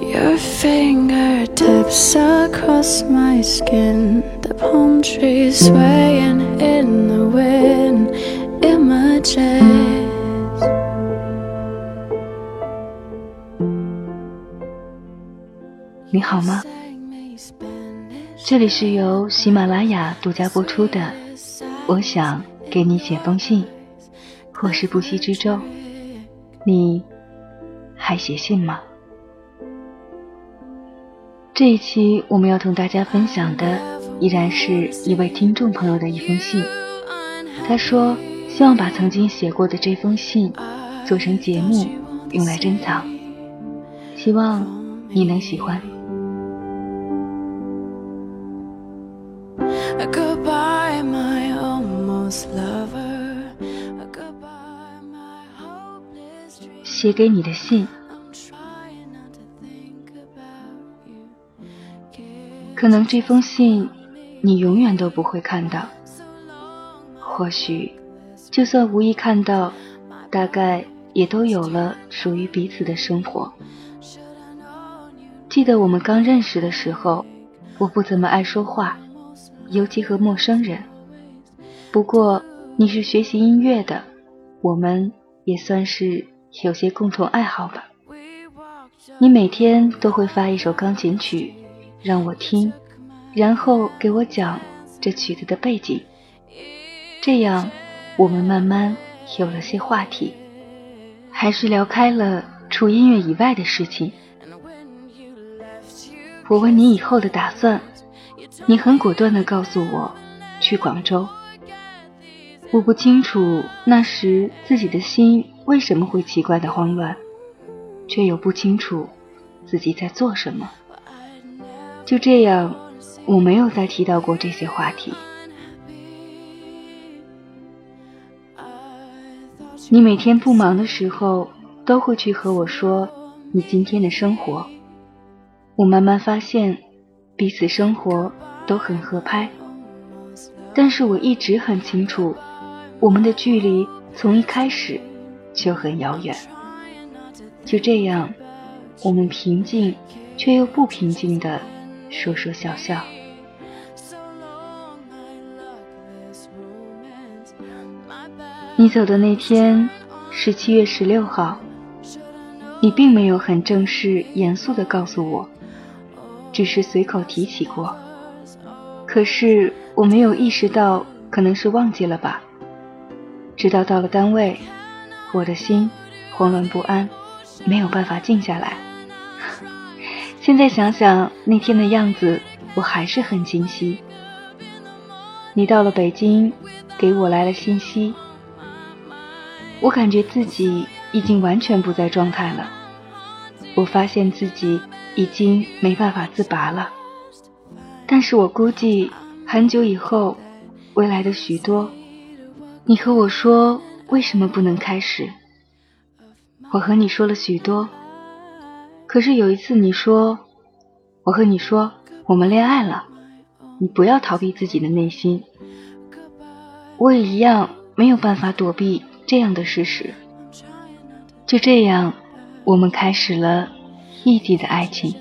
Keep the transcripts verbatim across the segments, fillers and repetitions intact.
Your fingertips across my skin, the palm trees swaying in the wind, images. 你好吗？这里是由喜马拉雅独家播出的我想给你写封信，我是不息之舟，你还写信吗？这一期我们要同大家分享的依然是一位听众朋友的一封信。他说希望把曾经写过的这封信做成节目用来珍藏，希望你能喜欢。 Goodbye, my almost lover. Goodbye, my hopeless dream. 写给你的信，可能这封信你永远都不会看到，或许就算无意看到，大概也都有了属于彼此的生活。记得我们刚认识的时候，我不怎么爱说话，尤其和陌生人。不过你是学习音乐的，我们也算是有些共同爱好吧。你每天都会发一首钢琴曲让我听，然后给我讲这曲子的背景，这样我们慢慢有了些话题，还是聊开了除音乐以外的事情。我问你以后的打算，你很果断地告诉我去广州。我不清楚那时自己的心为什么会奇怪的慌乱，却又不清楚自己在做什么。就这样，我没有再提到过这些话题。你每天不忙的时候都会去和我说你今天的生活。我慢慢发现彼此生活都很合拍，但是我一直很清楚我们的距离从一开始就很遥远。就这样，我们平静却又不平静地说说笑笑。你走的那天是七月十六号，你并没有很正式严肃地告诉我，只是随口提起过。可是我没有意识到，可能是忘记了吧。直到到了单位，我的心慌乱不安，没有办法静下来。现在想想那天的样子，我还是很清晰。你到了北京，给我来了信息。我感觉自己已经完全不在状态了，我发现自己已经没办法自拔了。但是我估计很久以后，未来的许多，你和我说为什么不能开始。我和你说了许多，可是有一次你说，我和你说我们恋爱了，你不要逃避自己的内心。我也一样没有办法躲避这样的事实。就这样，我们开始了异地的爱情。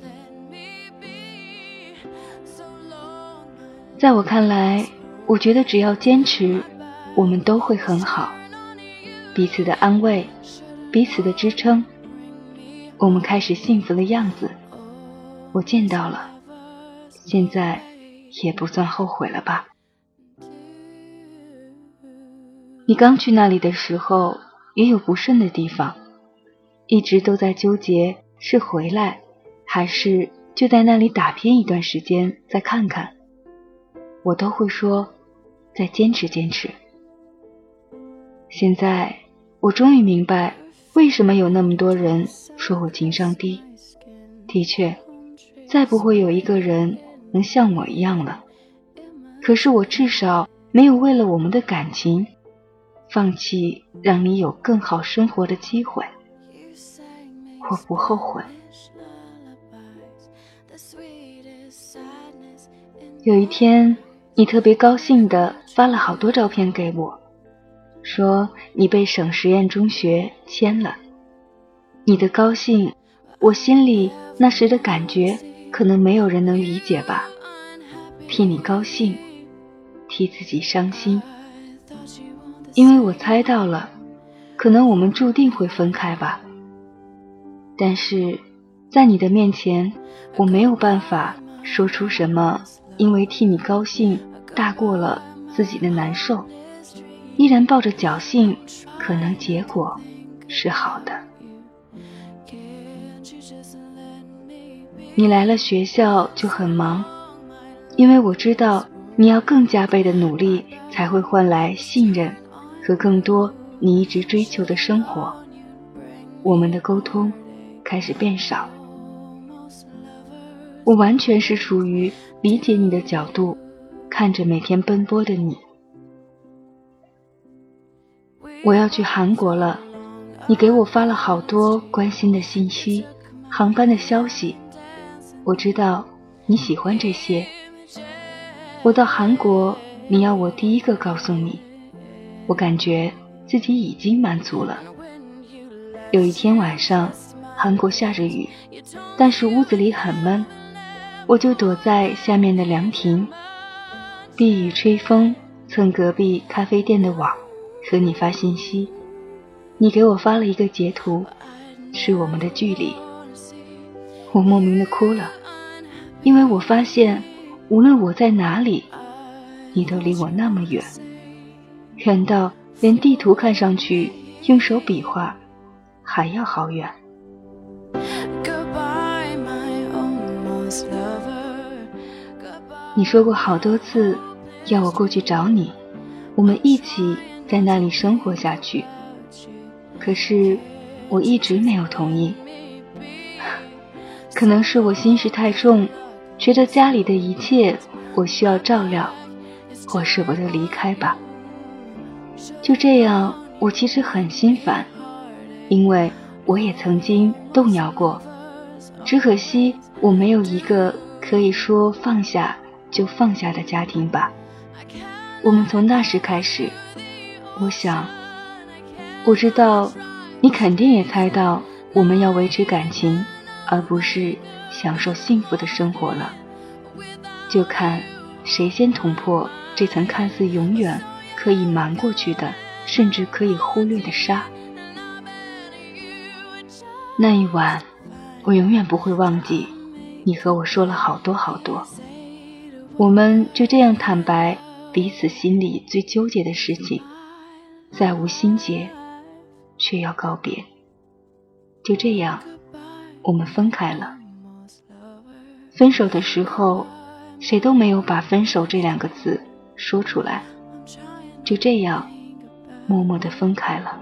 在我看来，我觉得只要坚持，我们都会很好。彼此的安慰，彼此的支撑，我们开始幸福的样子，我见到了，现在也不算后悔了吧。你刚去那里的时候，也有不顺的地方，一直都在纠结是回来，还是就在那里打拼一段时间再看看。我都会说再坚持坚持。现在我终于明白为什么有那么多人说我情商低。的确，再不会有一个人能像我一样了。可是我至少没有为了我们的感情放弃让你有更好生活的机会，我不后悔。有一天，你特别高兴地发了好多照片给我，说你被省实验中学签了。你的高兴，我心里那时的感觉可能没有人能理解吧，替你高兴，替自己伤心。因为我猜到了，可能我们注定会分开吧。但是在你的面前，我没有办法说出什么因为替你高兴大过了自己的难受，依然抱着侥幸，可能结果是好的。你来了学校就很忙，因为我知道你要更加倍的努力，才会换来信任和更多你一直追求的生活。我们的沟通开始变少，我完全是处于理解你的角度，看着每天奔波的你。我要去韩国了，你给我发了好多关心的信息，航班的消息，我知道你喜欢这些。我到韩国，你要我第一个告诉你，我感觉自己已经满足了。有一天晚上，韩国下着雨，但是屋子里很闷，我就躲在下面的凉亭，避雨吹风，蹭隔壁咖啡店的网，和你发信息。你给我发了一个截图，是我们的距离。我莫名的哭了，因为我发现无论我在哪里，你都离我那么远，远到连地图看上去用手比划还要好远。你说过好多次要我过去找你，我们一起在那里生活下去，可是我一直没有同意。可能是我心事太重，觉得家里的一切我需要照料，我舍不得离开吧。就这样，我其实很心烦，因为我也曾经动摇过，只可惜我没有一个可以说放下就放下的家庭吧。我们从那时开始，我想，我知道你肯定也猜到我们要维持感情，而不是享受幸福的生活了。就看谁先捅破这层看似永远可以瞒过去的，甚至可以忽略的纱。那一晚，我永远不会忘记，你和我说了好多好多，我们就这样坦白彼此心里最纠结的事情，再无心结，却要告别。就这样，我们分开了。分手的时候，谁都没有把分手这两个字说出来，就这样默默地分开了。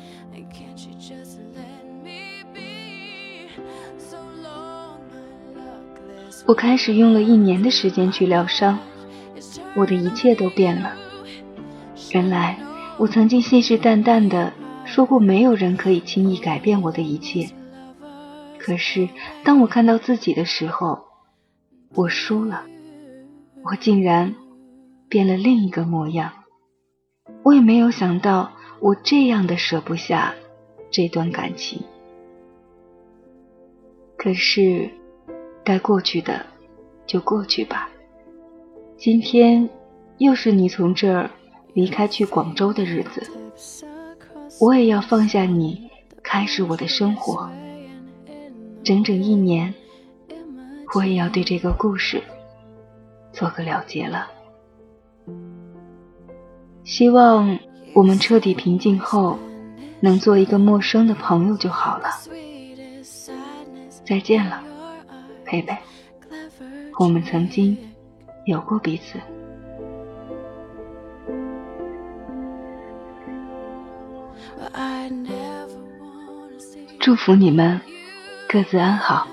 我开始用了一年的时间去疗伤，我的一切都变了。原来我曾经信誓旦旦地说过，没有人可以轻易改变我的一切。可是当我看到自己的时候，我输了，我竟然变了另一个模样。我也没有想到我这样的舍不下这段感情。可是该过去的就过去吧。今天又是你从这儿离开去广州的日子，我也要放下你，开始我的生活。整整一年，我也要对这个故事做个了结了。希望我们彻底平静后，能做一个陌生的朋友就好了。再见了，佩佩，我们曾经有过彼此。祝福你们各自安好。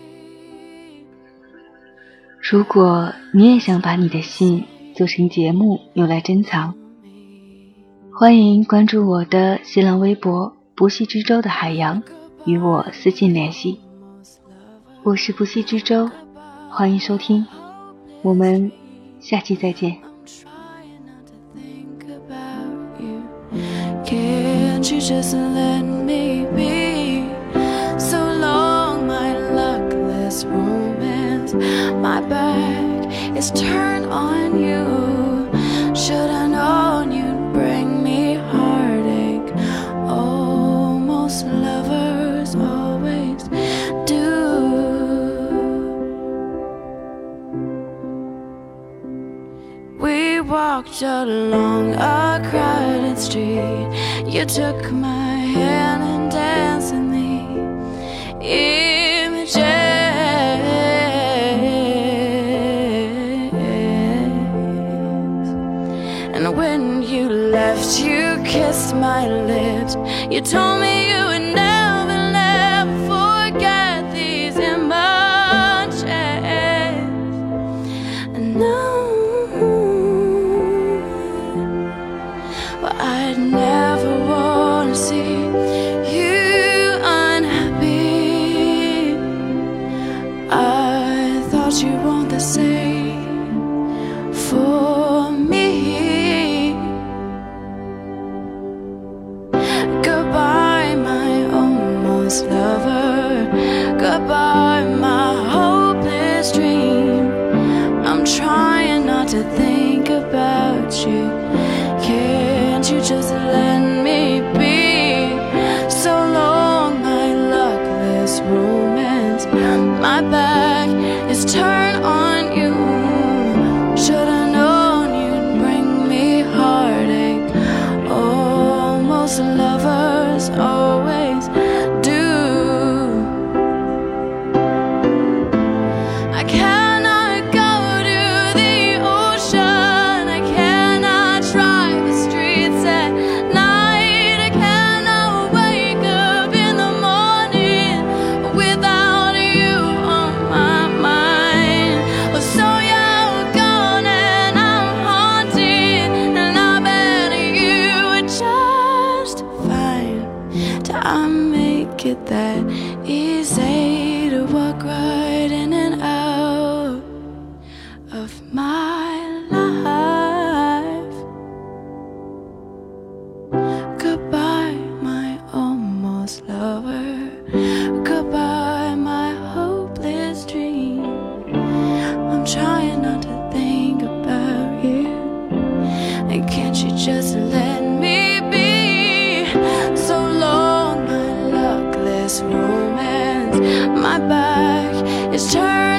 如果你也想把你的信做成节目用来珍藏，欢迎关注我的新浪微博不系之舟的海洋，与我私信联系。我是不系之舟，欢迎收听，我们下期再见。Can't you just let me be? So long, my luckless My back is turned on you. Should've known you'd bring me heartache. Oh, most lovers always do. We walked along a crowded street. You took my hand and danced in the images. And when you left, you kissed my lips. You told me you would never, never forget these emotions. And now, well, I'd never wanna see you unhappy. I thought you'd want the same for me. Goodbye, my almost lover. Goodbye, my hopeless dream. I'm trying not to think about you. Can't you just let me be? So long, my luckless romance. My back is turned on you. Should've known you'd bring me heartache. Oh, most lovers always do. I cannot go to the ocean. I cannot drive the streets at night. I cannot wake up in the morning without you on my mind. Well, so you're gone and I'm haunted, and I bet you would just fine. Till I make it that easy to walk right in and out of my life. Goodbye, my almost lover. Goodbye, my hopeless dream. I'm trying not to think about you. And can't you just let me be? So long, my luckless romance. My back is turned